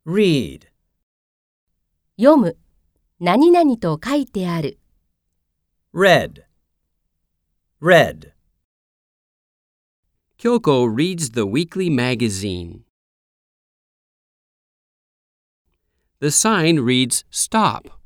read, 読む、何々と書いてある。 read, read. Kyoko reads the weekly magazine. The sign reads, "Stop."